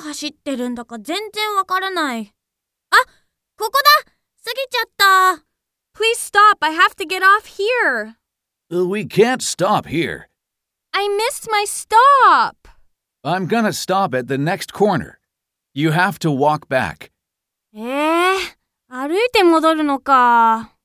走ってるんだか全然わからない。あ、ここだ！過ぎちゃった。 Please stop, I have to get off here. We can't stop here. I missed my stop. I'm gonna stop at the next corner. You have to walk back. 歩いて戻るのか。